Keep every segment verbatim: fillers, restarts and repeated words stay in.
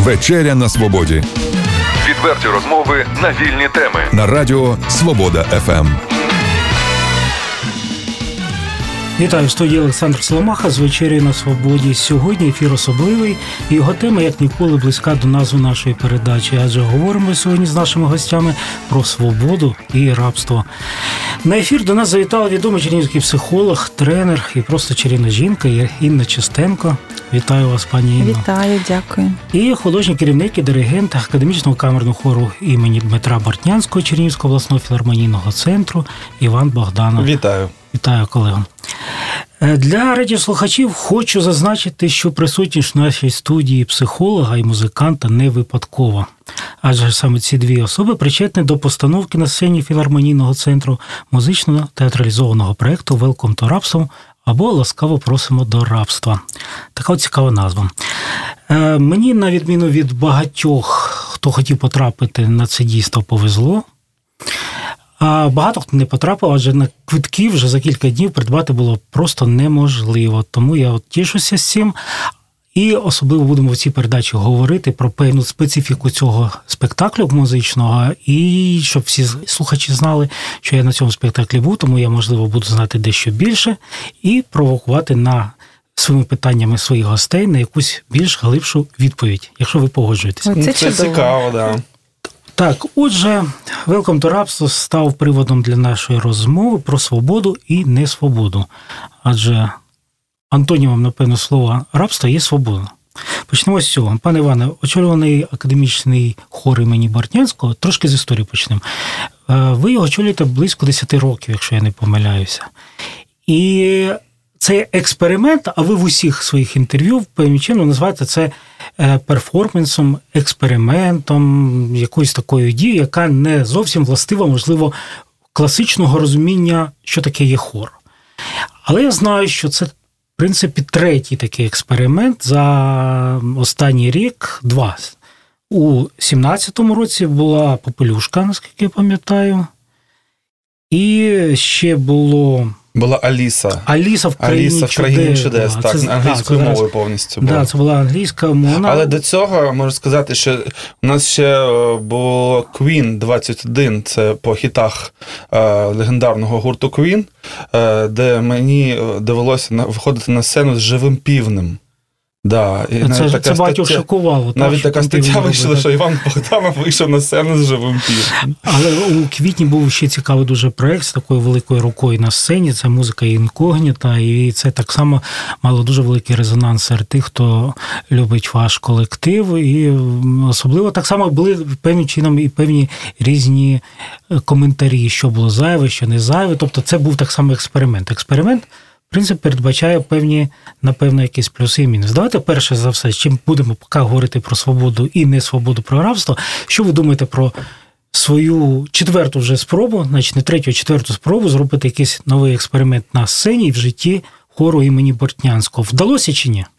Вечеря на свободі. Відверті розмови на вільні теми. На радіо Свобода еф ем. Вітаю, в студії Олександр Соломаха з «Вечеря на свободі». Сьогодні ефір особливий, і його тема, як ніколи, близька до назви нашої передачі. Адже говоримо сьогодні з нашими гостями про свободу і рабство. На ефір до нас завітала відомий чернігівський психолог, тренер і просто чарівна жінка Інна Чистенко. Вітаю вас, пані Інно. Вітаю, дякую. І художній керівник і диригент академічного камерного хору імені Дмитра Бортнянського Чернігівського обласного філармонійного центру Іван Богданов. Вітаю. Вітаю, колего. Для радіослухачів хочу зазначити, що присутність в нашій студії психолога і музиканта не випадкова. Адже саме ці дві особи причетні до постановки на сцені філармонійного центру музично-театралізованого проєкту «Welcome to Rap» або «Ласкаво просимо до рабства». Така от цікава назва. Мені, на відміну від багатьох, хто хотів потрапити на це дійство, повезло. А багато хто не потрапив, адже на квитки вже за кілька днів придбати було просто неможливо. Тому я от тішуся з цим. І особливо будемо в цій передачі говорити про певну специфіку цього спектаклю музичного, і щоб всі слухачі знали, що я на цьому спектаклі був, тому я, можливо, буду знати дещо більше і провокувати на своїми питаннями своїх гостей на якусь більш глибшу відповідь, якщо ви погоджуєтесь. Це, Це цікаво, да. Так, отже, «Welcome to Rap» став приводом для нашої розмови про свободу і несвободу. Адже антонімом, напевно, слова «рабство» є «свобода». Почнемо з цього. Пане Іване, очолюваний академічний хор імені Бортнянського, трошки з історії почнемо. Ви його очолюєте близько десять років, якщо я не помиляюся. І це експеримент, а ви в усіх своїх інтерв'ю певним чином називаєте це перформансом, експериментом, якоюсь такою дією, яка не зовсім властива, можливо, класичного розуміння, що таке є хор. Але я знаю, що це, в принципі, третій такий експеримент за останній рік, два. У сімнадцятому році була «Попелюшка», наскільки я пам'ятаю, і ще було... Була Аліса. Аліса в країні Аліса в країні чудес, чудес так, це, англійською да, мовою це, повністю була. Так, да, це була англійська мова. Але до цього, можу сказати, що у нас ще було Queen двадцять один, це по хітах е, легендарного гурту Queen, е, де мені довелося виходити на сцену з живим півнем. Да, і це це така багатьох стаття, шокувало. Навіть так, така стаття вийшла, що Іван Богданов вийшов на сцену з живим півнем. Але у квітні був ще цікавий дуже проєкт з такою великою рукою на сцені, це музика інкогніта, і це так само мало дуже великий резонанс серед тих, хто любить ваш колектив, і особливо так само були певним чином і певні різні коментарі, що було зайве, що не зайве, тобто це був так само експеримент. Експеримент, в принципі, передбачає певні, напевно, якісь плюси і мінуси. Давайте перше за все, чим будемо поки говорити про свободу і не свободу, про рабство. Що ви думаєте про свою четверту вже спробу, значить не третю, а четверту спробу зробити якийсь новий експеримент на сцені і в житті хору імені Бортнянського? Вдалося чи ні?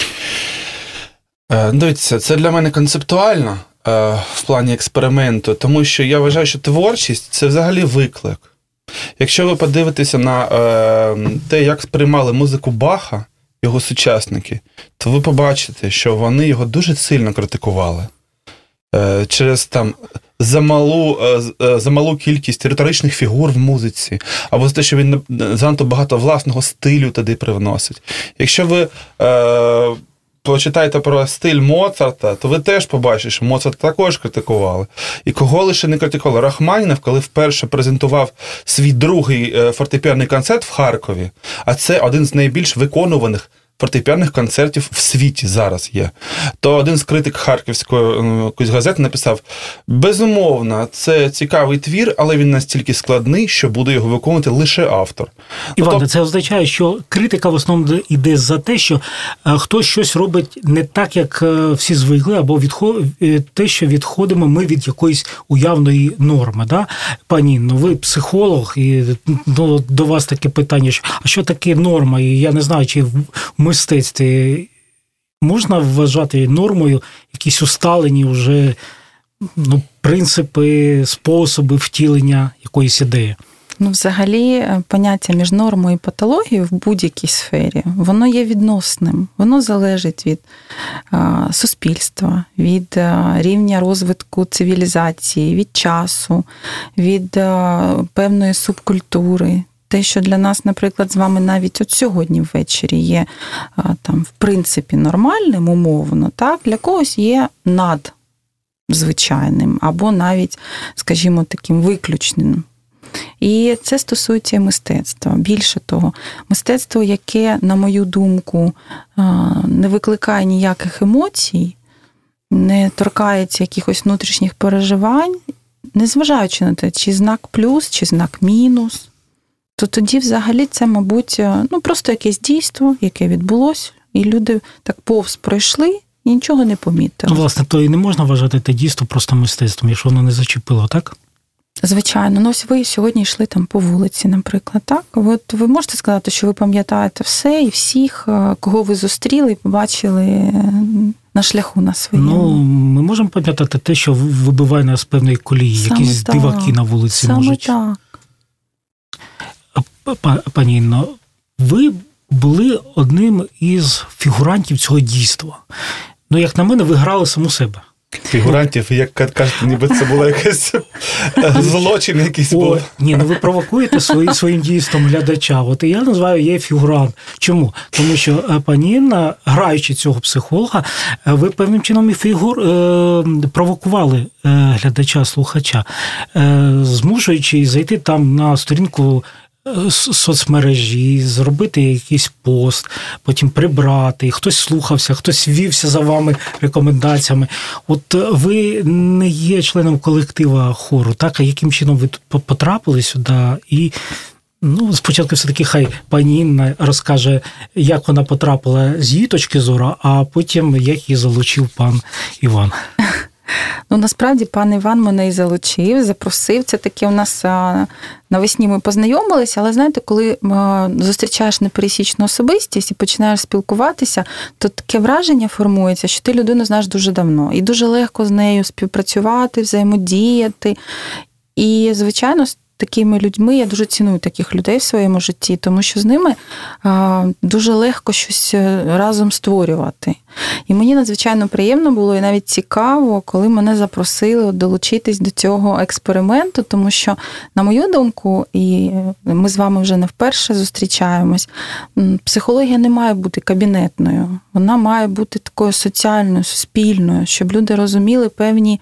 Дивіться, це для мене концептуально в плані експерименту, тому що я вважаю, що творчість – це взагалі виклик. Якщо ви подивитеся на е, те, як сприймали музику Баха, його сучасники, то ви побачите, що вони його дуже сильно критикували. Е, через там замалу, е, замалу кількість риторичних фігур в музиці, або за те, що він занадто багато власного стилю туди привносить. Якщо ви е, почитаєте про стиль Моцарта, то ви теж побачите, що Моцарта також критикували. І кого лише не критикували. Рахманінов, коли вперше презентував свій другий фортепіанний концерт в Харкові, а це один з найбільш виконуваних фортепіанних концертів в світі зараз є, то один з критик харківської якоїсь газети написав: безумовно, це цікавий твір, але він настільки складний, що буде його виконувати лише автор. Іван, Тобто... це означає, що критика в основному йде за те, що хтось щось робить не так, як всі звикли, або відход... те, що відходимо ми від якоїсь уявної норми. Да? Пані, ну ви психолог, і ну, до вас таке питання, що, а що таке норма? І я не знаю, чи в мистецтві можна вважати нормою якісь усталені вже ну, принципи, способи втілення якоїсь ідеї? Ну, взагалі, поняття між нормою і патологією в будь-якій сфері, воно є відносним. Воно залежить від а, суспільства, від а, рівня розвитку цивілізації, від часу, від а, певної субкультури. Те, що для нас, наприклад, з вами навіть от сьогодні ввечері є а, там, в принципі, нормальним, умовно, так, для когось є надзвичайним або навіть, скажімо, таким виключним. І це стосується мистецтва. Більше того, мистецтво, яке, на мою думку, не викликає ніяких емоцій, не торкається якихось внутрішніх переживань, незважаючи на те, чи знак плюс, чи знак мінус, то тоді взагалі це, мабуть, ну, просто якесь дійство, яке відбулося, і люди так повз пройшли і нічого не помітили. Ну, власне, то і не можна вважати те дійство просто мистецтвом, якщо воно не зачепило, так? Звичайно. Ну, ось ви сьогодні йшли там по вулиці, наприклад, так? От ви можете сказати, що ви пам'ятаєте все і всіх, кого ви зустріли і побачили на шляху на своєму? Ну, ми можемо пам'ятати те, що вибиває нас з певної колії, Саме якісь так. диваки на вулиці Саме можуть. так. Пані Інно, ви були одним із фігурантів цього дійства. Ну, як на мене, ви грали саму себе. Фігурантів, як кажете, ніби це було якийсь злочин якийсь був. О, ні, ну ви провокуєте свої, своїм дійством глядача. От і я називаю її фігурант. Чому? Тому що пані Інна, граючи цього психолога, ви певним чином і фігур е, провокували глядача, слухача, е, змушуючи зайти там на сторінку соцмережі, зробити якийсь пост, потім прибрати, хтось слухався, хтось вівся за вами рекомендаціями. От ви не є членом колектива хору, так? А яким чином ви тут потрапили сюди? І ну, спочатку все-таки хай пані Інна розкаже, як вона потрапила з її точки зору, а потім як її залучив пан Іван. Ну, насправді, пан Іван мене і залучив, запросив. Це таке у нас навесні ми познайомилися, але, знаєте, коли зустрічаєш непересічну особистість і починаєш спілкуватися, то таке враження формується, що ти людину знаєш дуже давно. І дуже легко з нею співпрацювати, взаємодіяти. І, звичайно, такими людьми, я дуже ціную таких людей в своєму житті, тому що з ними дуже легко щось разом створювати. І мені надзвичайно приємно було і навіть цікаво, коли мене запросили долучитись до цього експерименту, тому що, на мою думку, і ми з вами вже не вперше зустрічаємось, психологія не має бути кабінетною, вона має бути такою соціальною, суспільною, щоб люди розуміли певні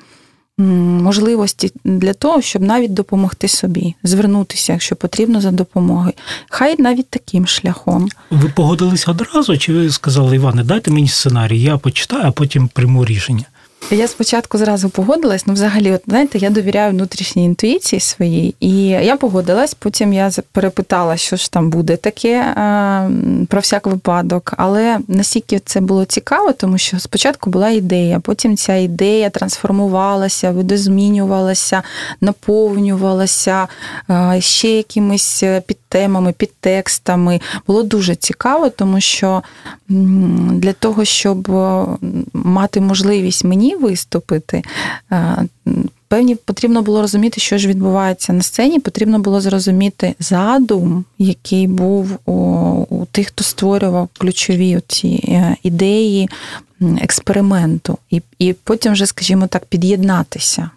можливості для того, щоб навіть допомогти собі, звернутися, якщо потрібно, за допомогою. Хай навіть таким шляхом. Ви погодилися одразу, чи ви сказали, Іване, дайте мені сценарій, я почитаю, а потім прийму рішення? Я спочатку зразу погодилась, ну взагалі, от, знаєте, я довіряю внутрішній інтуїції своїй, і я погодилась, потім я перепитала, що ж там буде таке, про всяк випадок, але настільки це було цікаво, тому що спочатку була ідея, потім ця ідея трансформувалася, видозмінювалася, наповнювалася ще якимись підтемами, підтекстами. Було дуже цікаво, тому що для того, щоб мати можливість мені виступити, певні потрібно було розуміти, що ж відбувається на сцені, потрібно було зрозуміти задум, який був у, у тих, хто створював ключові ці ідеї експерименту, і, і потім вже, скажімо так, під'єднатися.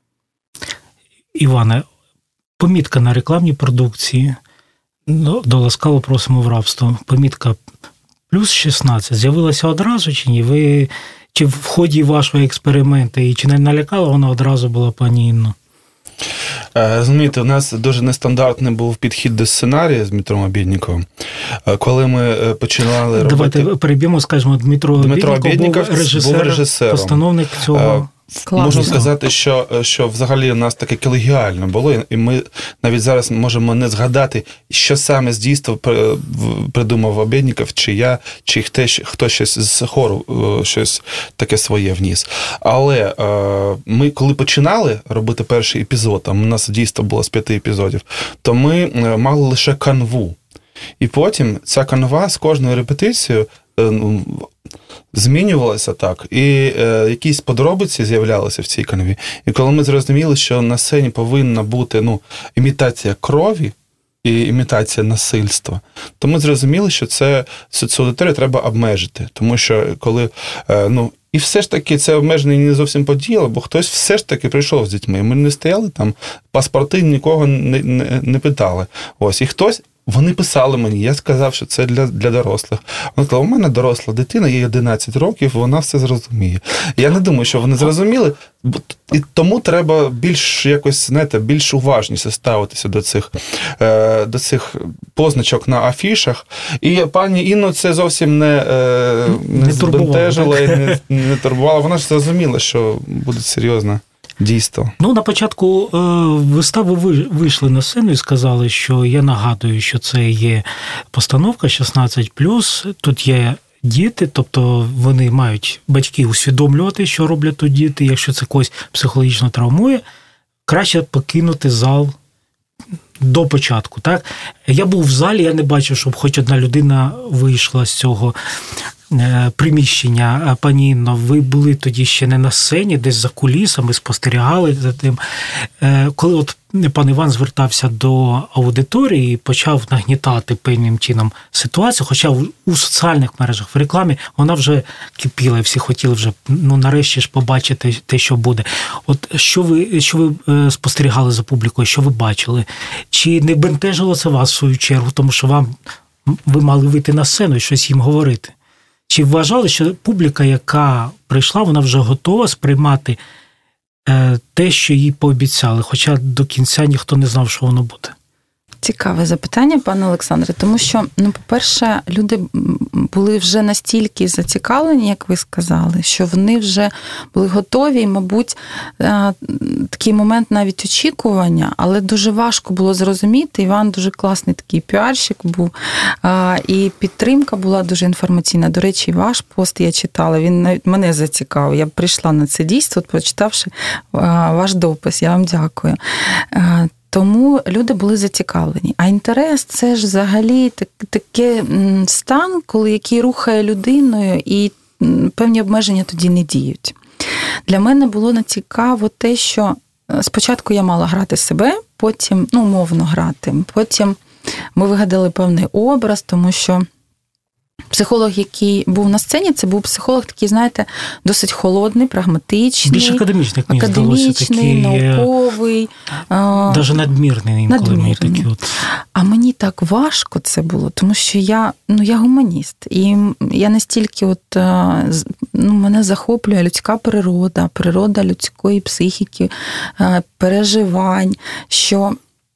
Іване, помітка на рекламній продукції, до ласкаво просимо в рабство, помітка плюс шістнадцять з'явилася одразу чи ні? Ви, чи в ході вашого експерименту, і чи не налякала вона одразу була пані Інну? Розумієте, у нас дуже нестандартний був підхід до сценарію з Дмитром Обєдніковим. Коли ми починали робити... Давайте переб'ємо, скажімо, Дмитро, Дмитро Обєдніков був режисер, був режисером. постановник цього... Класно. Можна сказати, що, що взагалі у нас таке колегіально було, і ми навіть зараз можемо не згадати, що саме з дійства придумав Обєдніков, чи я, чи хто, хто щось з хору, щось таке своє вніс. Але ми, коли починали робити перший епізод, там у нас дійство було з п'яти епізодів, то ми мали лише канву. І потім ця канва з кожною репетицією ну, змінювалося так, і е, якісь подробиці з'являлися в цій канві. І коли ми зрозуміли, що на сцені повинна бути ну, імітація крові і імітація насильства, то ми зрозуміли, що це, цю аудиторію треба обмежити. Тому що коли, е, ну, і все ж таки це обмеження не зовсім подіяло, бо хтось все ж таки прийшов з дітьми. Ми не стояли там, паспорти нікого не, не, не питали. Ось, і хтось, вони писали мені, я сказав, що це для, для дорослих. Вони сказали, у мене доросла дитина, їй одинадцять років, вона все зрозуміє. Я не думаю, що вони зрозуміли, і тому треба більш якось, знаєте, більш уважніше ставитися до цих, е, до цих позначок на афішах. І пані Інну це зовсім не, е, не, не збентежило і не, не турбувало. Вона ж зрозуміла, що буде серйозно. Дійство. Ну, на початку е, вистави ви вийшли на сцену і сказали, що я нагадую, що це є постановка шістнадцять плюс, тут є діти, тобто вони мають батьки усвідомлювати, що роблять тут діти, якщо це когось психологічно травмує, краще покинути зал до початку. Так? Я був в залі, я не бачив, щоб хоч одна людина вийшла з цього приміщення. Пані Інно, ви були тоді ще не на сцені, десь за кулісами, спостерігали за тим. Коли от пан Іван звертався до аудиторії і почав нагнітати певним чином ситуацію, хоча у соціальних мережах, в рекламі, вона вже кипіла, і всі хотіли вже, ну, нарешті ж побачити те, що буде. От що ви, що ви спостерігали за публікою, що ви бачили? Чи не бентежило це вас, в свою чергу, тому що вам, ви мали вийти на сцену і щось їм говорити? Чи вважали, що публіка, яка прийшла, вона вже готова сприймати те, що їй пообіцяли, хоча до кінця ніхто не знав, що воно буде? Цікаве запитання, пане Олександре, тому що, ну, по-перше, люди були вже настільки зацікавлені, як ви сказали, що вони вже були готові, і, мабуть, такий момент навіть очікування, але дуже важко було зрозуміти. Іван дуже класний такий піарщик був, і підтримка була дуже інформаційна. До речі, ваш пост я читала, він навіть мене зацікавив. Я прийшла на це дійство, прочитавши ваш допис. Я вам дякую. Тому люди були зацікавлені. А інтерес – це ж взагалі такий стан, коли який рухає людиною, і певні обмеження тоді не діють. Для мене було цікаво те, що спочатку я мала грати себе, потім, ну, умовно грати, потім ми вигадали певний образ, тому що психолог, який був на сцені, це був психолог такий, знаєте, досить холодний, прагматичний. Більш академічний, як мені академічний, здалося. Такий, науковий. Навіть надмірний інколи мені такі от. А мені так важко це було, тому що я, ну, я гуманіст. І я настільки от, ну, мене захоплює людська природа, природа людської психіки, переживань, що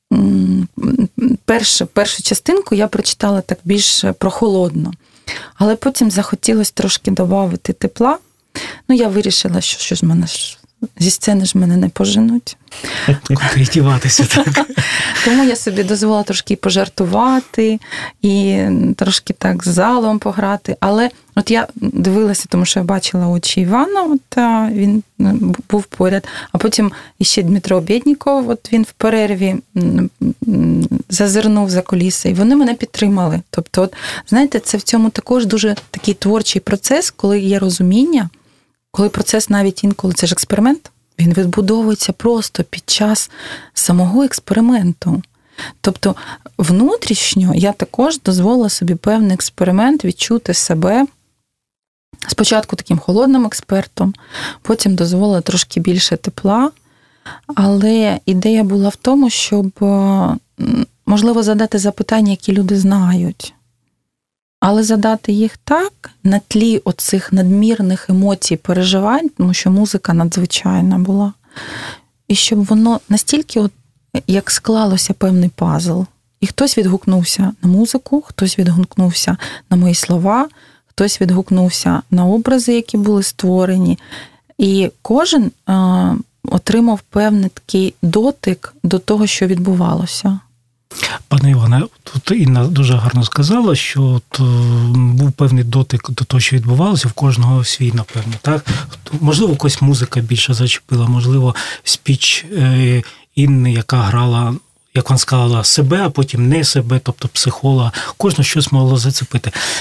першу, першу частинку я прочитала так більш прохолодно. Але потім захотілося трошки додати тепла. Ну, я вирішила, що, що ж мене зі сцени ж мене не поженуть. Куди діватися, так? Тому я собі дозволила трошки пожартувати і трошки так з залом пограти. Але от я дивилася, тому що я бачила очі Івана, от він був поряд. А потім іще Дмитро Обєдніков, от він в перерві зазирнув за куліси, і вони мене підтримали. Тобто, от, знаєте, це в цьому також дуже такий творчий процес, коли є розуміння, коли процес навіть інколи, це ж експеримент, він відбудовується просто під час самого експерименту. Тобто внутрішньо я також дозволила собі певний експеримент відчути себе спочатку таким холодним експертом, потім дозволила трошки більше тепла, але ідея була в тому, щоб, можливо, задати запитання, які люди знають. Але задати їх так, на тлі оцих надмірних емоцій, переживань, тому що музика надзвичайна була, і щоб воно настільки, от, як склалося певний пазл. І хтось відгукнувся на музику, хтось відгукнувся на мої слова, хтось відгукнувся на образи, які були створені. І кожен е, отримав певний такий дотик до того, що відбувалося. Пане Іване, тут Інна дуже гарно сказала, що от був певний дотик до того, що відбувалося, в кожного свій, напевно, так? Можливо, якась музика більше зачепила, можливо, спіч Інни, яка грала, як вона сказала, себе, а потім не себе, тобто психолога. Кожного щось могло зацепити.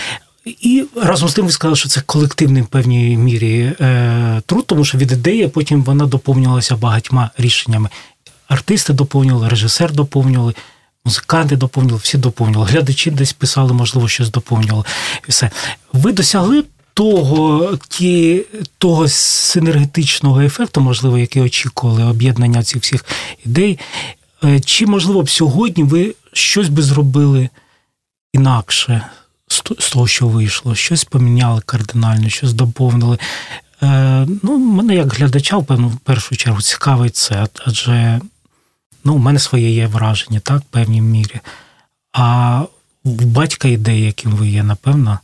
І разом з тим ви сказали, що це колективний в певній мірі е, труд, тому що від ідеї потім вона доповнювалася багатьма рішеннями. Артисти доповнювали, режисер доповнювали, музиканти доповнювали, всі доповнювали. Глядачі десь писали, можливо, щось доповнювали. І все. Ви досягли того, ті, того синергетичного ефекту, можливо, який очікували об'єднання цих всіх ідей. Чи, можливо, б сьогодні ви щось би зробили інакше з того, що вийшло? Щось поміняли кардинально, щось доповнили? Ну, мене як глядача, впевнено, в першу чергу цікавить це, адже ну, у мене своє є враження, так, в певній мірі. А в батька ідеї, яким ви є, напевно,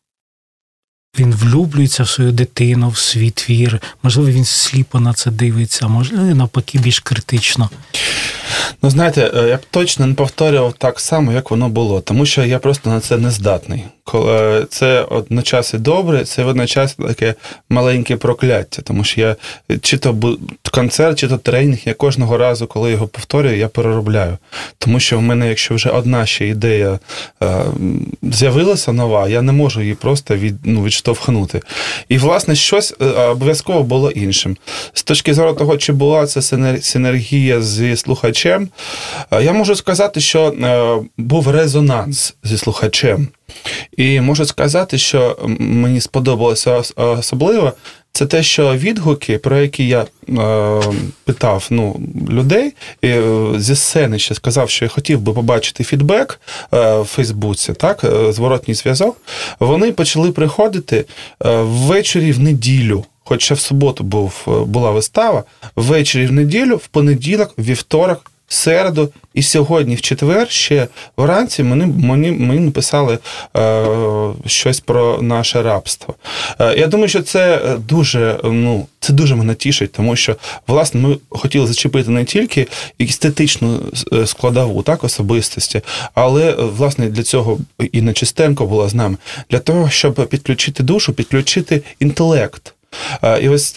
він влюблюється в свою дитину, в свій твір. Можливо, він сліпо на це дивиться, а можливо, навпаки, більш критично. Ну, знаєте, я б точно не повторював так само, як воно було, тому що я просто на це не здатний. Це одночасно добре, це водночас таке маленьке прокляття, тому що я чи то концерт, чи то тренінг, я кожного разу, коли його повторюю, я переробляю. Тому що в мене, якщо вже одна ще ідея е, з'явилася нова, я не можу її просто від, ну, відштовхнути. І, власне, щось обов'язково було іншим. З точки зору того, чи була це синергія зі слухачем, я можу сказати, що е, був резонанс зі слухачем. І можу сказати, що мені сподобалося особливо, це те, що відгуки, про які я е, питав ну, людей, і, е, зі сцени ще сказав, що я хотів би побачити фідбек е, в Фейсбуці, так, е, зворотній зв'язок, вони почали приходити е, ввечері в неділю. Хоча в суботу був, була вистава, ввечері в неділю, в понеділок, в вівторок, в середу і сьогодні, в четвер, ще вранці мені, мені, мені написали е, щось про наше рабство. Е, я думаю, що це дуже, ну, це дуже мене тішить, тому що, власне, ми хотіли зачепити не тільки естетичну складову, так, особистості, але, власне, для цього і Нечистенко була з нами, для того, щоб підключити душу, підключити інтелект. І ось,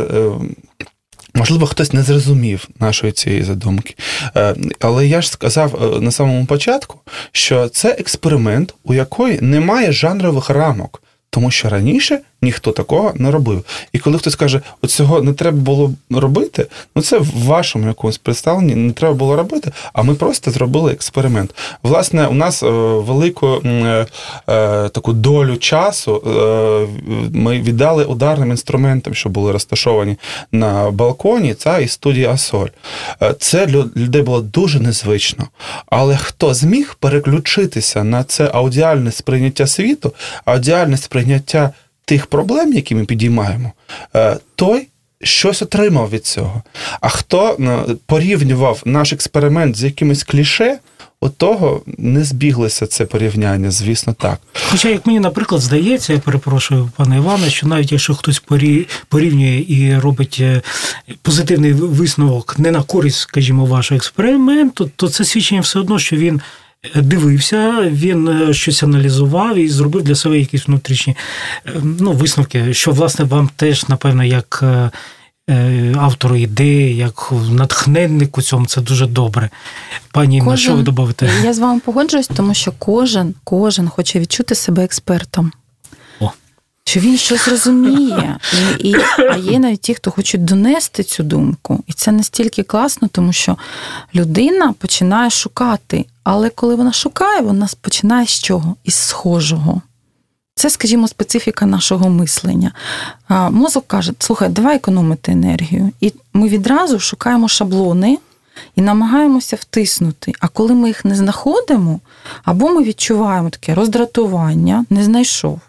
можливо, хтось не зрозумів нашої цієї задумки. Але я ж сказав на самому початку, що це експеримент, у якої немає жанрових рамок. Тому що раніше ніхто такого не робив. І коли хтось каже, от цього не треба було робити, ну це в вашому якомусь представленні не треба було робити, а ми просто зробили експеримент. Власне, у нас велику е, е, таку долю часу е, ми віддали ударним інструментам, що були розташовані на балконі, це і студія Асоль. Це для людей було дуже незвично. Але хто зміг переключитися на це аудіальне сприйняття світу, аудіальне сприйняття тих проблем, які ми підіймаємо, той щось отримав від цього. А хто порівнював наш експеримент з якимось кліше, от того не збіглося це порівняння, звісно, так. Хоча, як мені, наприклад, здається, я перепрошую, пане Іване, що навіть якщо хтось порівнює і робить позитивний висновок не на користь, скажімо, вашого експерименту, то це свідчення все одно, що він дивився, він щось аналізував і зробив для себе якісь внутрішні ну, висновки, що, власне, вам теж, напевно, як автору ідеї, як натхненнику цьому, це дуже добре. Пані Інна, що ви добавите? Я з вами погоджуюсь, тому що кожен, кожен хоче відчути себе експертом. О. Що він щось розуміє. І, і, а є навіть ті, хто хочуть донести цю думку. І це настільки класно, тому що людина починає шукати. Але коли вона шукає, вона починає з чого? Із схожого. Це, скажімо, специфіка нашого мислення. Мозок каже, слухай, давай економити енергію. І ми відразу шукаємо шаблони і намагаємося втиснути. А коли ми їх не знаходимо, або ми відчуваємо таке роздратування, не знайшов.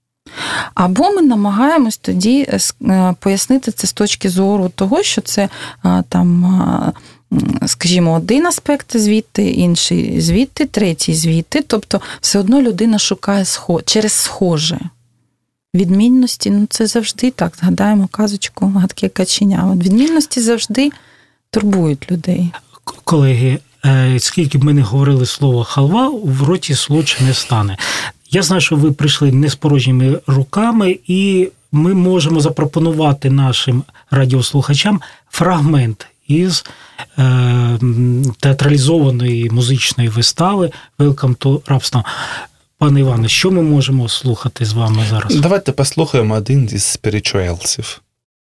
Або ми намагаємось тоді пояснити це з точки зору того, що це там, скажімо, один аспект звідти, інший звідти, третій звідти. Тобто все одно людина шукає схо... через схоже. Відмінності, ну це завжди так, згадаємо казочку «Гадке каченя». Відмінності завжди турбують людей. Колеги, скільки б ми не говорили слово «халва», в роті солодше не стане. Я знаю, що ви прийшли не з порожніми руками, і ми можемо запропонувати нашим радіослухачам фрагмент із е, театралізованої музичної вистави «Welcome to Rhapsody». Пане Іване, що ми можемо слухати з вами зараз? Давайте послухаємо один із спірічуелсів.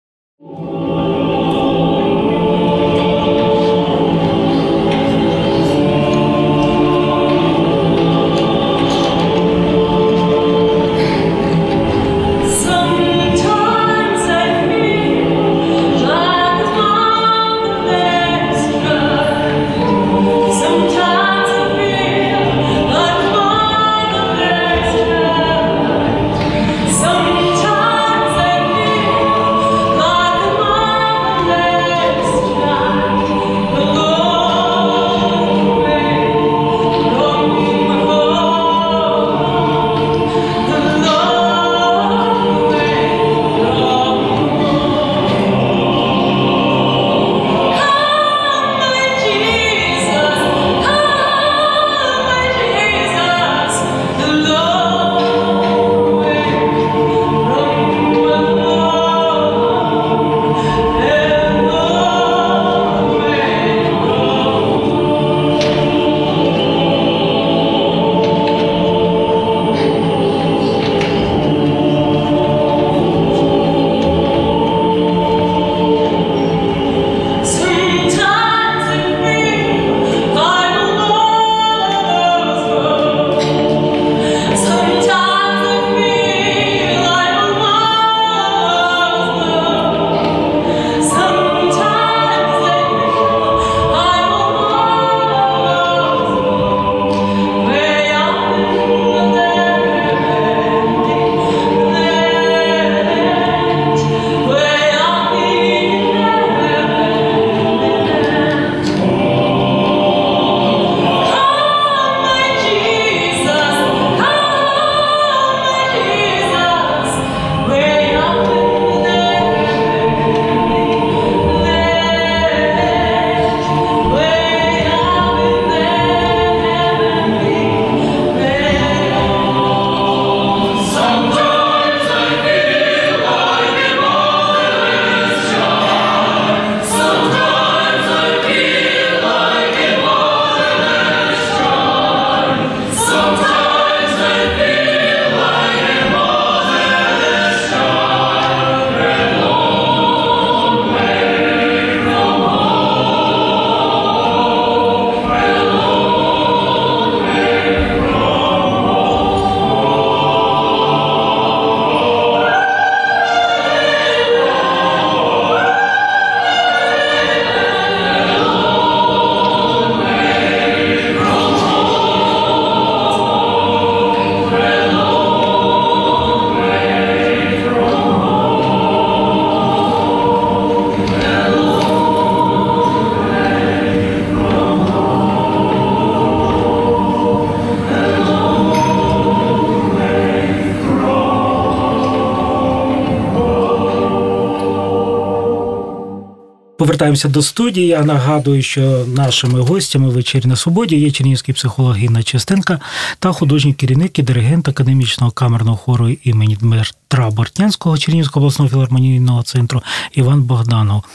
Повертаємося до студії. Я нагадую, що нашими гостями «Вечері на свободі» є чернігівський психолог Інна Чистенка та художній керівник і диригент академічного камерного хору імені Дмитра Бортнянського Чернігівського обласного філармонійного центру Іван Богданов.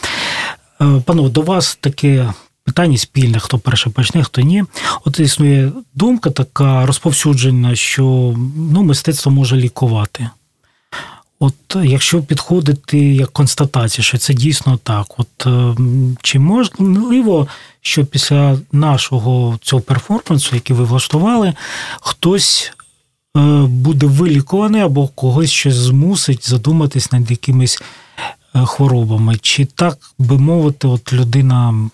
Панове, до вас таке питання спільне, хто перше почне, хто ні. От існує думка така розповсюджена, що ну, мистецтво може лікувати. От якщо підходити як констатація, що це дійсно так, от чи можливо, що після нашого цього перформансу, який ви влаштували, хтось буде вилікуваний або когось щось змусить задуматись над якимись хворобами? Чи так би мовити, от людина,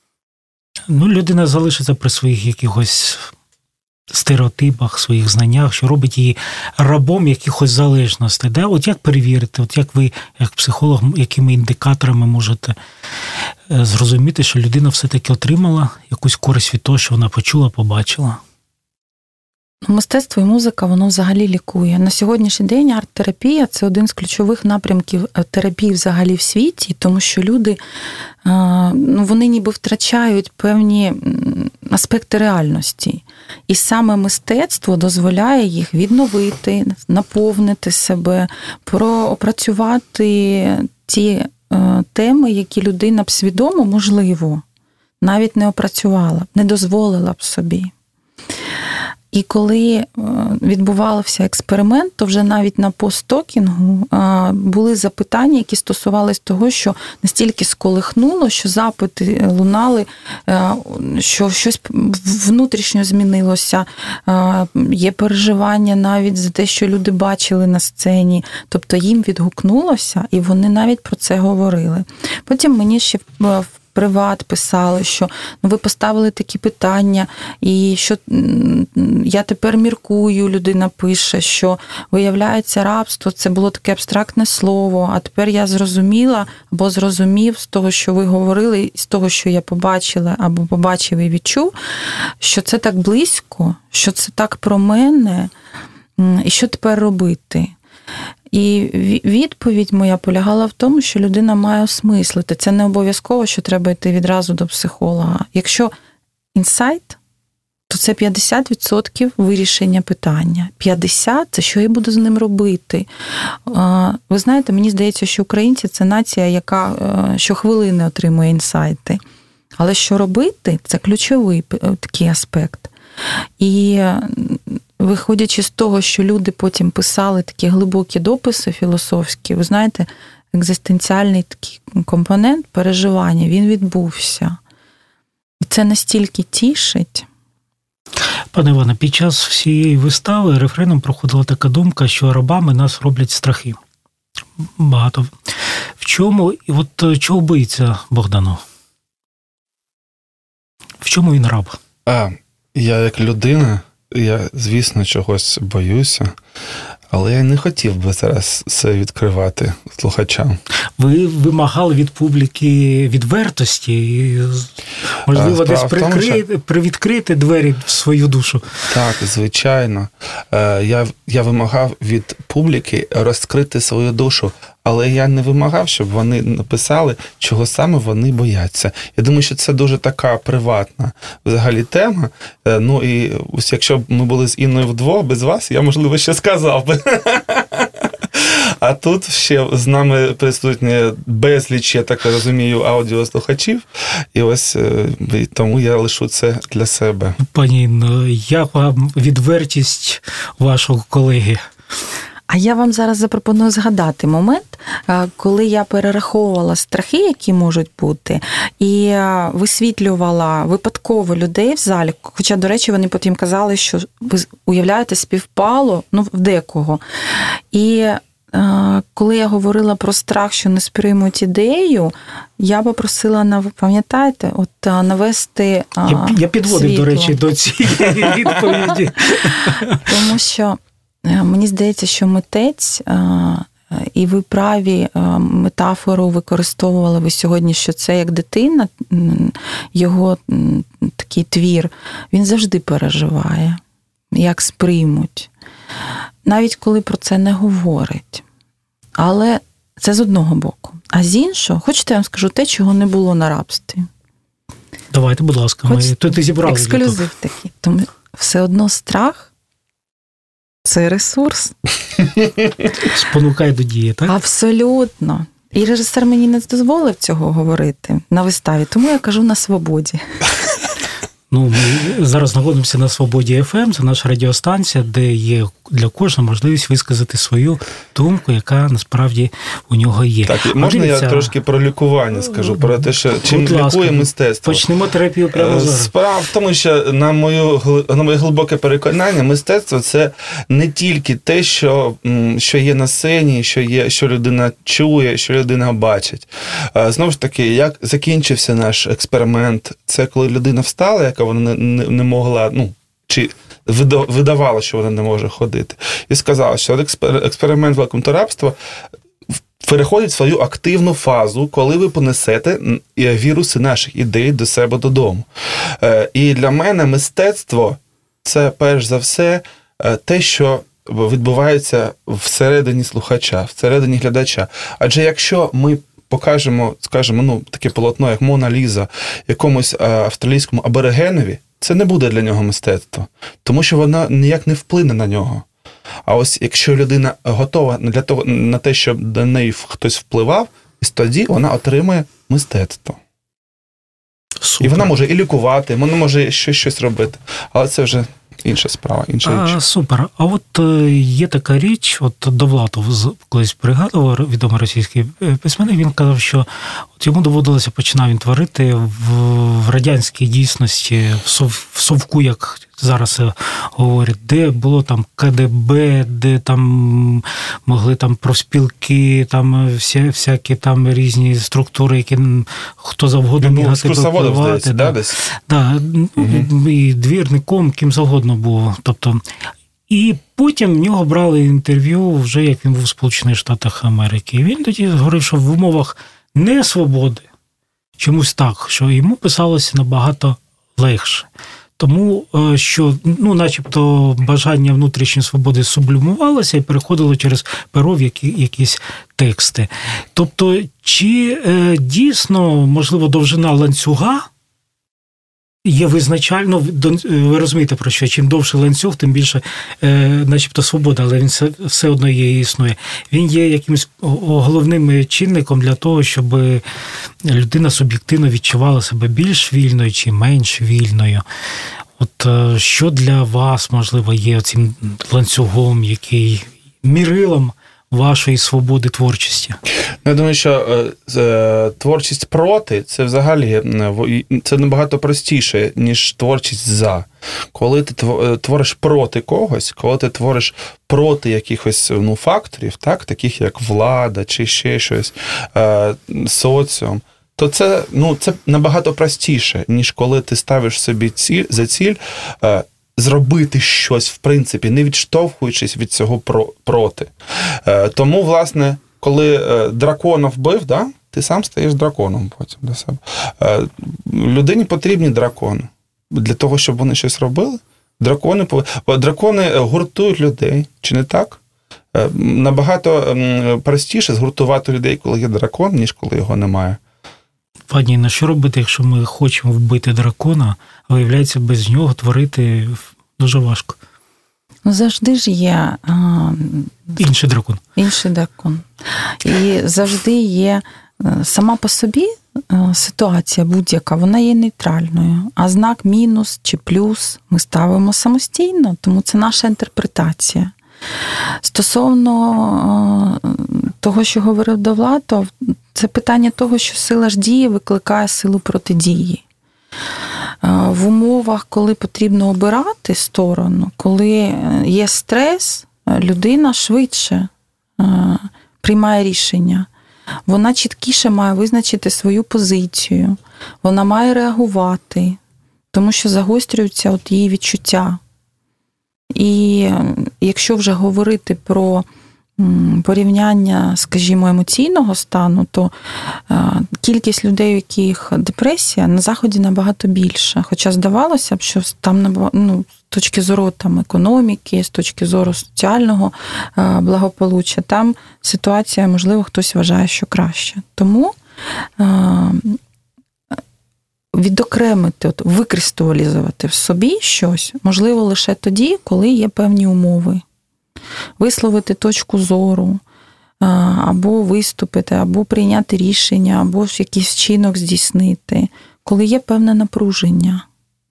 ну, людина залишиться при своїх якихось стереотипах, своїх знаннях, що робить її рабом якихось залежностей. Да? От як перевірити, от як ви, як психолог, якими індикаторами можете зрозуміти, що людина все-таки отримала якусь користь від того, що вона почула, побачила? Мистецтво і музика, воно взагалі лікує. На сьогоднішній день арт-терапія – це один з ключових напрямків терапії взагалі в світі, тому що люди, ну, вони ніби втрачають певні аспекти реальності. І саме мистецтво дозволяє їх відновити, наповнити себе, опрацювати ті теми, які людина б свідомо, можливо, навіть не опрацювала, не дозволила б собі. І коли відбувався експеримент, то вже навіть на посттокінгу були запитання, які стосувались того, що настільки сколихнуло, що запити лунали, що щось внутрішньо змінилося, є переживання навіть за те, що люди бачили на сцені, тобто їм відгукнулося, і вони навіть про це говорили. Потім мені ще в приват писали, що ну, ви поставили такі питання, і що я тепер міркую, людина пише, що виявляється рабство, це було таке абстрактне слово, а тепер я зрозуміла або зрозумів з того, що ви говорили, з того, що я побачила або побачив і відчув, що це так близько, що це так про мене, і що тепер робити. І відповідь моя полягала в тому, що людина має осмислити. Це не обов'язково, що треба йти відразу до психолога. Якщо інсайт, то це п'ятдесят відсотків вирішення питання. п'ятдесят відсотків – це що я буду з ним робити. Ви знаєте, мені здається, що українці – це нація, яка щохвилини отримує інсайти. Але що робити – це ключовий такий аспект. І виходячи з того, що люди потім писали такі глибокі дописи філософські, ви знаєте, екзистенціальний такий компонент переживання, він відбувся. І це настільки тішить. Пане Іване, під час всієї вистави рефреном проходила така думка, що рабами нас роблять страхи. Багато. В чому, і от чого боїться Богданов? В чому він раб? А, я як людина, я, звісно, чогось боюся, але я не хотів би зараз це відкривати слухачам. Ви вимагали від публіки відвертості і, можливо, десь прикрити, що... привідкрити двері в свою душу. Так, звичайно. Я, я вимагав від публіки розкрити свою душу, але я не вимагав, щоб вони написали, чого саме вони бояться. Я думаю, що це дуже така приватна взагалі тема. Ну і ось якщо б ми були з Інною вдвох, без вас, я, можливо, ще сказав би. А тут ще з нами присутні безліч, я так розумію, аудіослухачів. І ось тому я лишу це для себе. Пані Інно, як вам відвертість вашого колеги? А я вам зараз запропоную згадати момент, коли я перераховувала страхи, які можуть бути, і висвітлювала випадково людей в залі, хоча, до речі, вони потім казали, що ви уявляєте, співпало, ну, в декого. І коли я говорила про страх, що не сприймуть ідею, я попросила, пам'ятаєте, от навести Я, я підводив, світло. До речі, до цієї відповіді. Тому що мені здається, що митець, і ви праві, метафору використовували ви сьогодні, що це як дитина, його такий твір, він завжди переживає, як сприймуть. Навіть коли про це не говорить. Але це з одного боку. А з іншого, хочете, я вам скажу те, чого не було на рабстві? Давайте, будь ласка, ми тут і зібрали. Ексклюзив такий. Тому все одно страх – це ресурс. Спонукає до дії, так? Абсолютно. І режисер мені не дозволив цього говорити на виставі, тому я кажу на свободі. Ну, ми зараз знаходимося на Свободі еф ем, це наша радіостанція, де є для кожного можливість висказати свою думку, яка насправді у нього є. Так, можна Дивіться... я трошки про лікування скажу, про те, що чим лікує мистецтво? Почнемо терапію прямо зараз. Справа в тому, що на, мою, на моє глибоке переконання, мистецтво – це не тільки те, що, що є на сцені, що, є, що людина чує, що людина бачить. Знову ж таки, як закінчився наш експеримент, це коли людина встала, яка вона не, не могла, ну, чи видавала, що вона не може ходити, і сказала, що експеримент великомторабства переходить в свою активну фазу, коли ви понесете віруси наших ідей до себе додому. І для мене мистецтво – це, перш за все, те, що відбувається всередині слухача, всередині глядача. Адже якщо ми покажемо, скажімо, ну, таке полотно, як Мона Ліза, якомусь австралійському аборигенові, це не буде для нього мистецтво, тому що вона ніяк не вплине на нього. А ось якщо людина готова для того, на те, щоб до неї хтось впливав, тоді вона отримує мистецтво. Супер. І вона може і лікувати, вона може ще щось робити. Але це вже інша справа, інша річ. А, супер. А от є така річ, от Довлатов колись пригадував, відомий російський письменник, він казав, що от йому доводилося, починав він творити в, в радянській дійсності, в, сов, в совку, як зараз говорять, де було там ка де бе, де там могли там профспілки, там всі, всякі там різні структури, які хто завгодно міг на тебе впливати. Да, десь? Да, угу. І двірником, ким завгодно був. Тобто, і потім в нього брали інтерв'ю вже, як він був в Сполучених Штатах Америки. І він тоді говорив, що в умовах не свободи, чомусь так, що йому писалося набагато легше. Тому, що, ну, начебто, бажання внутрішньої свободи сублімувалося і переходило через перо в які, якісь тексти. Тобто, чи е, дійсно, можливо, довжина ланцюга є визначально, ви розумієте про що, чим довше ланцюг, тим більше е, начебто свобода, але він все, все одно є і існує. Він є якимось головним чинником для того, щоб людина суб'єктивно відчувала себе більш вільною чи менш вільною. От е, що для вас, можливо, є цим ланцюгом, який мірилом вашої свободи творчості? Я думаю, що е, творчість проти – це взагалі це набагато простіше, ніж творчість за. Коли ти твориш проти когось, коли ти твориш проти якихось ну, факторів, так, таких як влада чи ще щось, е, соціум, то це, ну, це набагато простіше, ніж коли ти ставиш собі ціль, за ціль е, зробити щось, в принципі, не відштовхуючись від цього про, проти. Е, тому, власне, коли е, дракона вбив, да, ти сам стаєш драконом потім для себе. Е, людині потрібні дракони. Для того, щоб вони щось робили, дракони, дракони гуртують людей, чи не так? Е, набагато простіше згуртувати людей, коли є дракон, ніж коли його немає. Пані, на що робити, якщо ми хочемо вбити дракона, а виявляється, без нього творити дуже важко? Ну, завжди ж є а, інший дракон. Інший дракон. І завжди є сама по собі ситуація будь-яка, вона є нейтральною. А знак мінус чи плюс ми ставимо самостійно, тому це наша інтерпретація. Стосовно того, що говорив Довлатов, це питання того, що сила ж дії викликає силу протидії. В умовах, коли потрібно обирати сторону, коли є стрес, людина швидше приймає рішення. Вона чіткіше має визначити свою позицію, вона має реагувати, тому що загострюються от її відчуття. І якщо вже говорити про порівняння, скажімо, емоційного стану, то кількість людей, у яких депресія, на Заході набагато більша. Хоча здавалося б, що там, ну, з точки зору там, економіки, з точки зору соціального благополуччя, там ситуація, можливо, хтось вважає, що краще. Тому відокремити, от, викристалізувати в собі щось можливо лише тоді, коли є певні умови. Висловити точку зору, або виступити, або прийняти рішення, або якийсь вчинок здійснити, коли є певне напруження.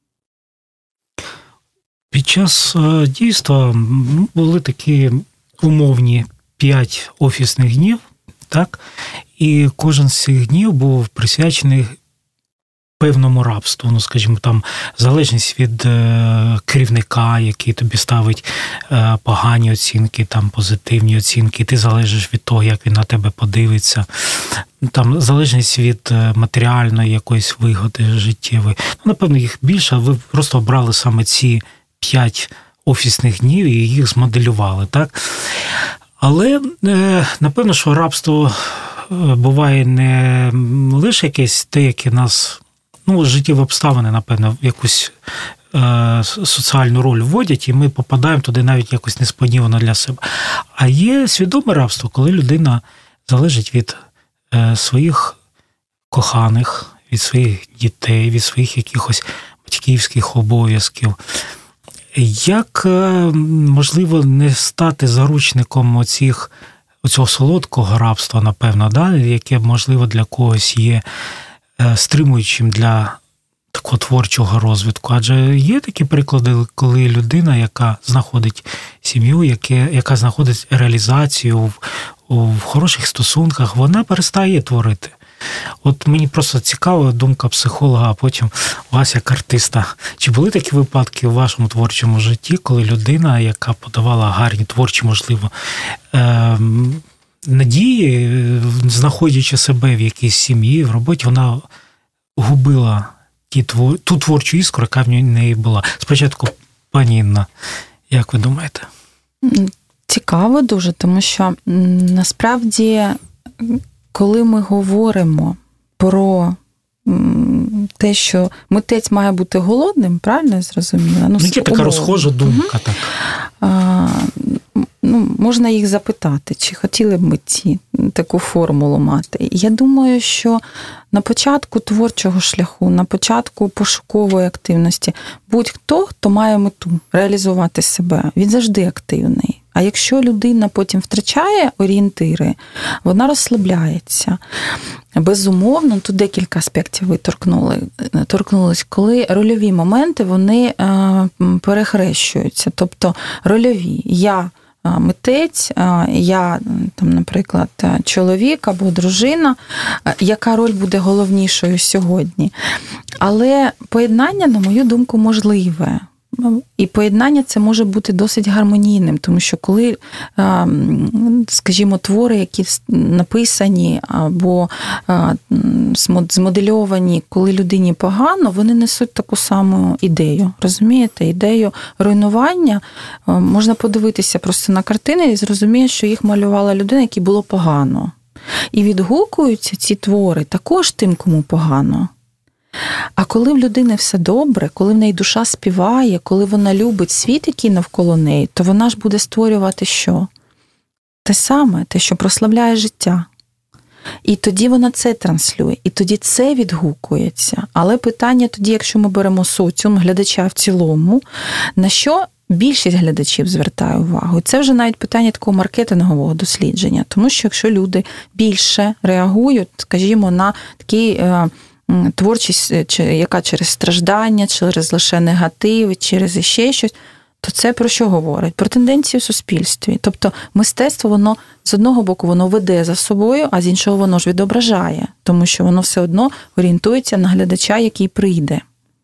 Під час дійства були такі умовні п'ять офісних днів, так? І кожен з цих днів був присвячений певному рабству, ну, скажімо, там, залежність від е, керівника, який тобі ставить е, погані оцінки, там, позитивні оцінки, ти залежиш від того, як він на тебе подивиться, там, залежність від е, матеріальної якоїсь вигоди життєвої. Ну, напевно, їх більше, ви просто обрали саме ці п'ять офісних днів і їх змоделювали, так? Але, е, напевно, що рабство буває не лише якесь те, яке нас, ну, життєві обставини, напевно, в якусь е, соціальну роль вводять, і ми попадаємо туди навіть якось несподівано для себе. А є свідоме рабство, коли людина залежить від е, своїх коханих, від своїх дітей, від своїх якихось батьківських обов'язків. Як е, можливо не стати заручником оцих, оцього солодкого рабства, напевно, да, яке, можливо, для когось є стримуючим для такого творчого розвитку? Адже є такі приклади, коли людина, яка знаходить сім'ю, яке, яка знаходить реалізацію в, в хороших стосунках, вона перестає творити. От мені просто цікава думка психолога, а потім вас як артиста. Чи були такі випадки у вашому творчому житті, коли людина, яка подавала гарні творчі, можливо, надії, знаходячи себе в якійсь сім'ї, в роботі, вона губила ті, ту творчу іскру, яка в неї була? Спочатку, пані Інна, як ви думаєте? Цікаво дуже, тому що насправді, коли ми говоримо про те, що митець має бути голодним, правильно я зрозуміла? Ну, є така розхожа думка. Так. А, ну, можна їх запитати, чи хотіли б митці таку формулу мати. Я думаю, що на початку творчого шляху, на початку пошукової активності, будь-хто, хто має мету реалізувати себе, він завжди активний. А якщо людина потім втрачає орієнтири, вона розслабляється. Безумовно, тут декілька аспектів ви торкнули, торкнулись, коли рольові моменти, вони перехрещуються. Тобто рольові. Я митець, я, там, наприклад, чоловік або дружина, яка роль буде головнішою сьогодні. Але поєднання, на мою думку, можливе. І поєднання це може бути досить гармонійним, тому що коли, скажімо, твори, які написані або змодельовані, коли людині погано, вони несуть таку саму ідею. Розумієте? Ідею руйнування. Можна подивитися просто на картини і зрозуміти, що їх малювала людина, якій було погано. І відгукуються ці твори також тим, кому погано. А коли в людини все добре, коли в неї душа співає, коли вона любить світ, який навколо неї, то вона ж буде створювати що? Те саме, те, що прославляє життя. І тоді вона це транслює, і тоді це відгукується. Але питання тоді, якщо ми беремо соціум, глядача в цілому, на що більшість глядачів звертає увагу? І це вже навіть питання такого маркетингового дослідження. Тому що якщо люди більше реагують, скажімо, на такий творчість, яка через страждання, через лише негатив, через іще щось, то це про що говорить? Про тенденції в суспільстві. Тобто мистецтво, воно з одного боку воно веде за собою, а з іншого воно ж відображає, тому що воно все одно орієнтується на глядача, який прийде.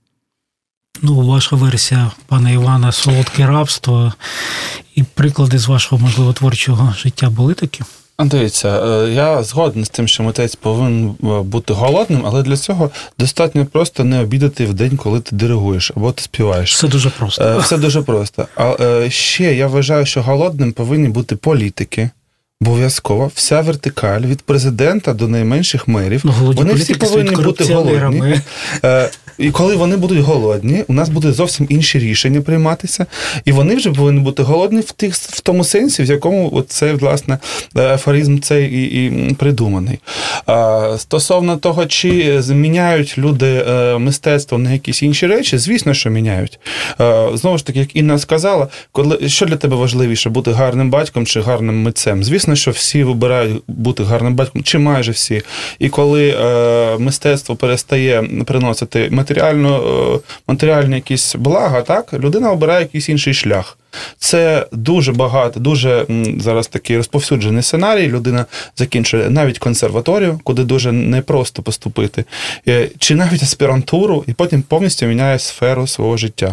Ну, ваша версія, пане Іване, «Солодке рабство» і приклади з вашого, можливо, творчого життя були такі? Дивіться, я згоден з тим, що митець повинен бути голодним, але для цього достатньо просто не обідати в день, коли ти диригуєш або ти співаєш. Все дуже просто. Все дуже просто. А ще я вважаю, що голодним повинні бути політики. Обов'язково. Вся вертикаль від президента до найменших мерів. Ну, вони всі повинні бути голодні. І коли вони будуть голодні, у нас будуть зовсім інші рішення прийматися. І вони вже повинні бути голодні в тих, в тому сенсі, в якому цей, власне, афоризм цей і, і придуманий. А, стосовно того, чи зміняють люди мистецтво на якісь інші речі, звісно, що міняють. А, знову ж таки, як Інна сказала, коли, що для тебе важливіше, бути гарним батьком чи гарним митцем? Звісно, що всі вибирають бути гарним батьком, чи майже всі. І коли е, мистецтво перестає приносити матеріально, е, матеріальні якісь блага, так, людина обирає якийсь інший шлях. Це дуже багато, дуже зараз такий розповсюджений сценарій. Людина закінчує навіть консерваторію, куди дуже непросто поступити, чи навіть аспірантуру, і потім повністю міняє сферу свого життя.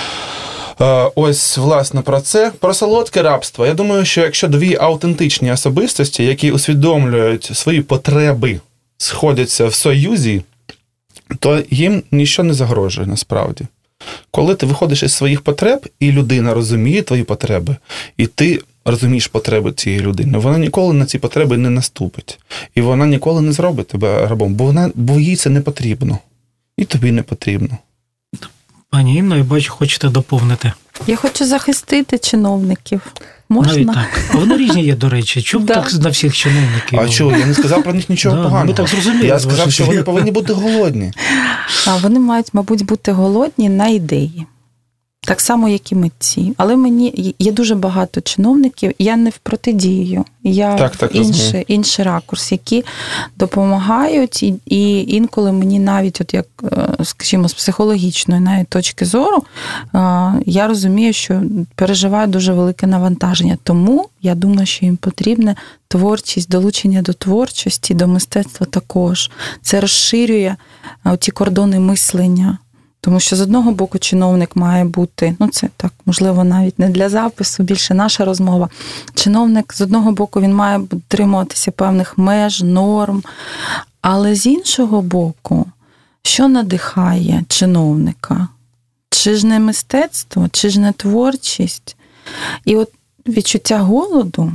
Ось, власне, про це. Про солодке рабство. Я думаю, що якщо дві автентичні особистості, які усвідомлюють свої потреби, сходяться в союзі, то їм нічого не загрожує, насправді. Коли ти виходиш із своїх потреб, і людина розуміє твої потреби, і ти розумієш потреби цієї людини, вона ніколи на ці потреби не наступить. І вона ніколи не зробить тебе рабом, бо, вона, бо їй це не потрібно. І тобі не потрібно. Пані Інно, я бачу, хочете доповнити. Я хочу захистити чиновників. Можна? Навіть так. А вони різні є, до речі. Чому да. так на всіх чиновників? А чого? Я не сказав про них нічого да, поганого. ми так зрозуміли. Я сказав, що вони повинні бути голодні. А вони мають, мабуть, бути голодні на ідеї. Так само, як і митці. Але мені є дуже багато чиновників, я не в протидію, я так, так, в інший, інший ракурс, які допомагають, і, і інколи мені навіть, от як, скажімо, з психологічної навіть точки зору, я розумію, що переживаю дуже велике навантаження. Тому я думаю, що їм потрібна творчість, долучення до творчості, до мистецтва також. Це розширює ті кордони мислення. Тому що з одного боку чиновник має бути, ну це так, можливо, навіть не для запису, більше наша розмова. Чиновник, з одного боку, він має дотримуватися певних меж, норм, але з іншого боку, що надихає чиновника? Чи ж не мистецтво, чи ж не творчість? І от відчуття голоду,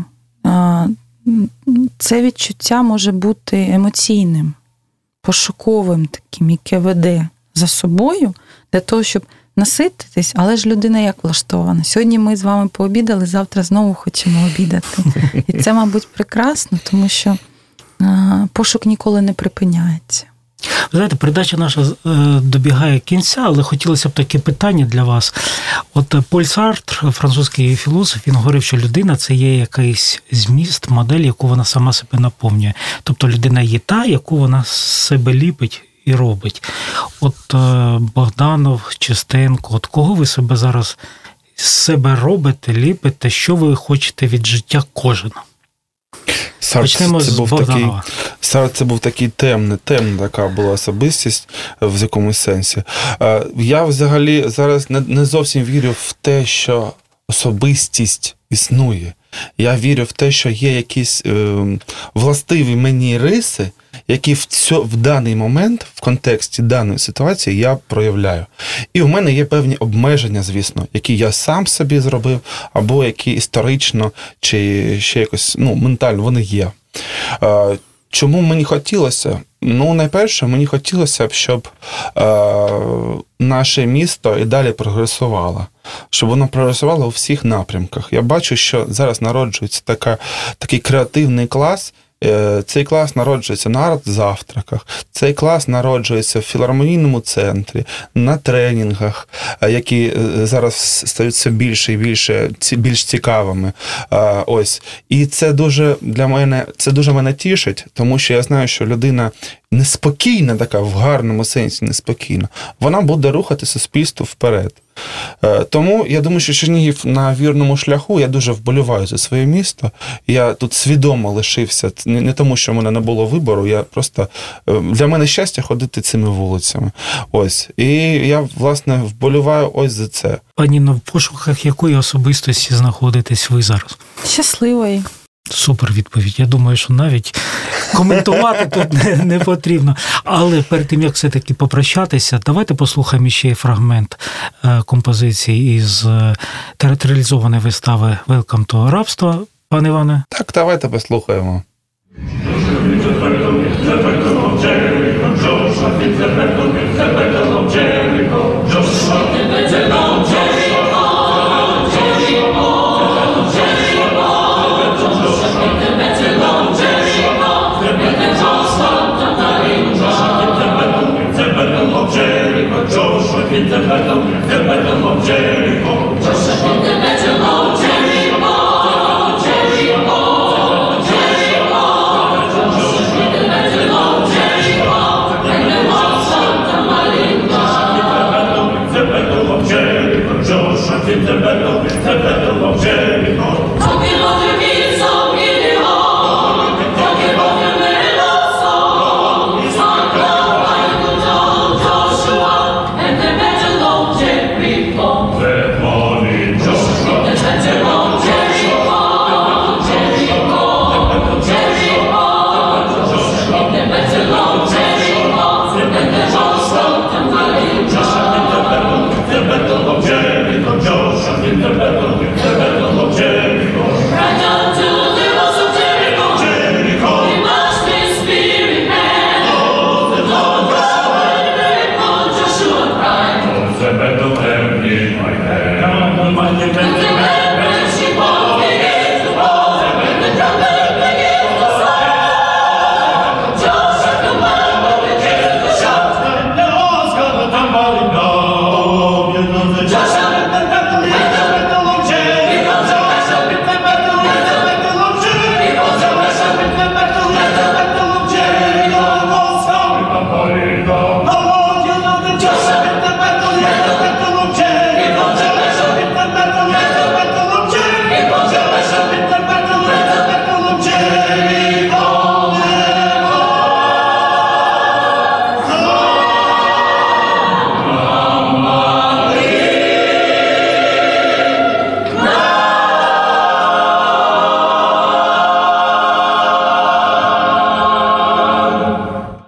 це відчуття може бути емоційним, пошуковим таким, яке веде за собою, для того, щоб насититись, але ж людина як влаштована. Сьогодні ми з вами пообідали, завтра знову хочемо обідати. І це, мабуть, прекрасно, тому що пошук ніколи не припиняється. Ви знаєте, передача наша добігає кінця, але хотілося б таке питання для вас. От Поль Сартр, французький філософ, він говорив, що людина – це є якийсь зміст, модель, яку вона сама себе наповнює. Тобто людина є та, яку вона з себе ліпить і робить. От Богданов, Чистенко, от кого ви себе зараз з себе робите, ліпите, що ви хочете від життя кожен? Почнемо з Богданова. Сартр це був такий темний, темна така була особистість в якомусь сенсі. Я взагалі зараз не, не зовсім вірю в те, що особистість існує. Я вірю в те, що є якісь е, властиві мені риси, які в, цьо, в даний момент, в контексті даної ситуації я проявляю. І в мене є певні обмеження, звісно, які я сам собі зробив, або які історично, чи ще якось, ну, ментально вони є. Е, чому мені хотілося? Ну, найперше, мені хотілося б, щоб е, наше місто і далі прогресувало. Щоб воно прогресувало у всіх напрямках. Я бачу, що зараз народжується така, такий креативний клас. Цей клас народжується на арт-завтраках, цей клас народжується в філармонійному центрі, на тренінгах, які зараз стають все більше і більше, більш цікавими. Ось. І це дуже для мене, це дуже мене тішить, тому що я знаю, що людина неспокійна така, в гарному сенсі неспокійна, вона буде рухати суспільство вперед. Тому я думаю, що Чернігів на вірному шляху, я дуже вболіваю за своє місто. Я тут свідомо лишився, не тому, що в мене не було вибору, я просто, для мене щастя ходити цими вулицями. Ось. І я, власне, вболіваю ось за це. Пані, в пошуках якої особистості знаходитесь ви зараз? Щасливої. Супер відповідь. Я думаю, що навіть коментувати тут не, не потрібно. Але перед тим, як все-таки попрощатися, давайте послухаємо ще фрагмент композиції із театралізованої вистави «Welcome to рабство». Пане Іване? Так, давайте послухаємо.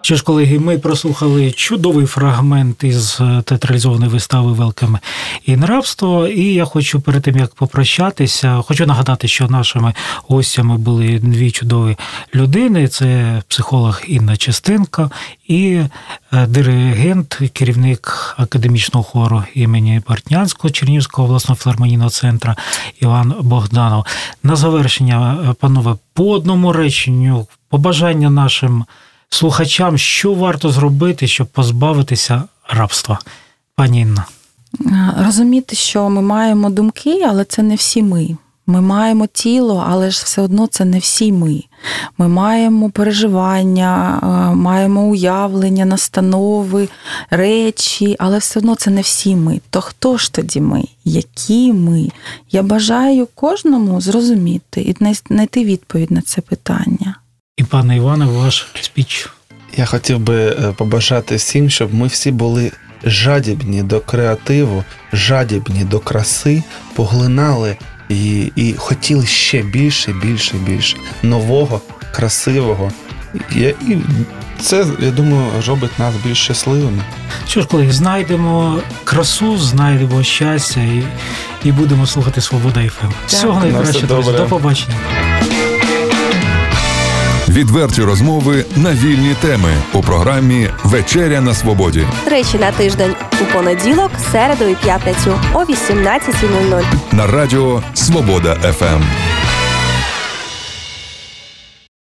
Що ж, колеги, ми прослухали чудовий фрагмент із театралізованої вистави «Welcome in рабство». І я хочу перед тим, як попрощатися, хочу нагадати, що нашими гостями були дві чудові людини. Це психолог Інна Чистенко і диригент, керівник академічного хору імені Бортнянського Чернігівського обласного філармонійного центру Іван Богданов. На завершення, панове, по одному реченню, побажання нашим слухачам, що варто зробити, щоб позбавитися рабства? Пані Інна. Розуміти, що ми маємо думки, але це не всі ми. Ми маємо тіло, але ж все одно це не всі ми. Ми маємо переживання, маємо уявлення, настанови, речі, але все одно це не всі ми. То хто ж тоді ми? Які ми? Я бажаю кожному зрозуміти і знайти відповідь на це питання. І, пане Іване, ваш спіч. Я хотів би побажати всім, щоб ми всі були жадібні до креативу, жадібні до краси, поглинали і, і хотіли ще більше, більше, більше нового, красивого. І, і це, я думаю, робить нас більш щасливими. Що ж, колеги, знайдемо красу, знайдемо щастя і, і будемо слухати «Свобода еф ем». Всього найкраще, друзі. До побачення. Відверті розмови на вільні теми у програмі «Вечеря на свободі». Тричі на тиждень у понеділок, середу і п'ятницю о вісімнадцятій нуль нуль. На радіо «Свобода еф ем».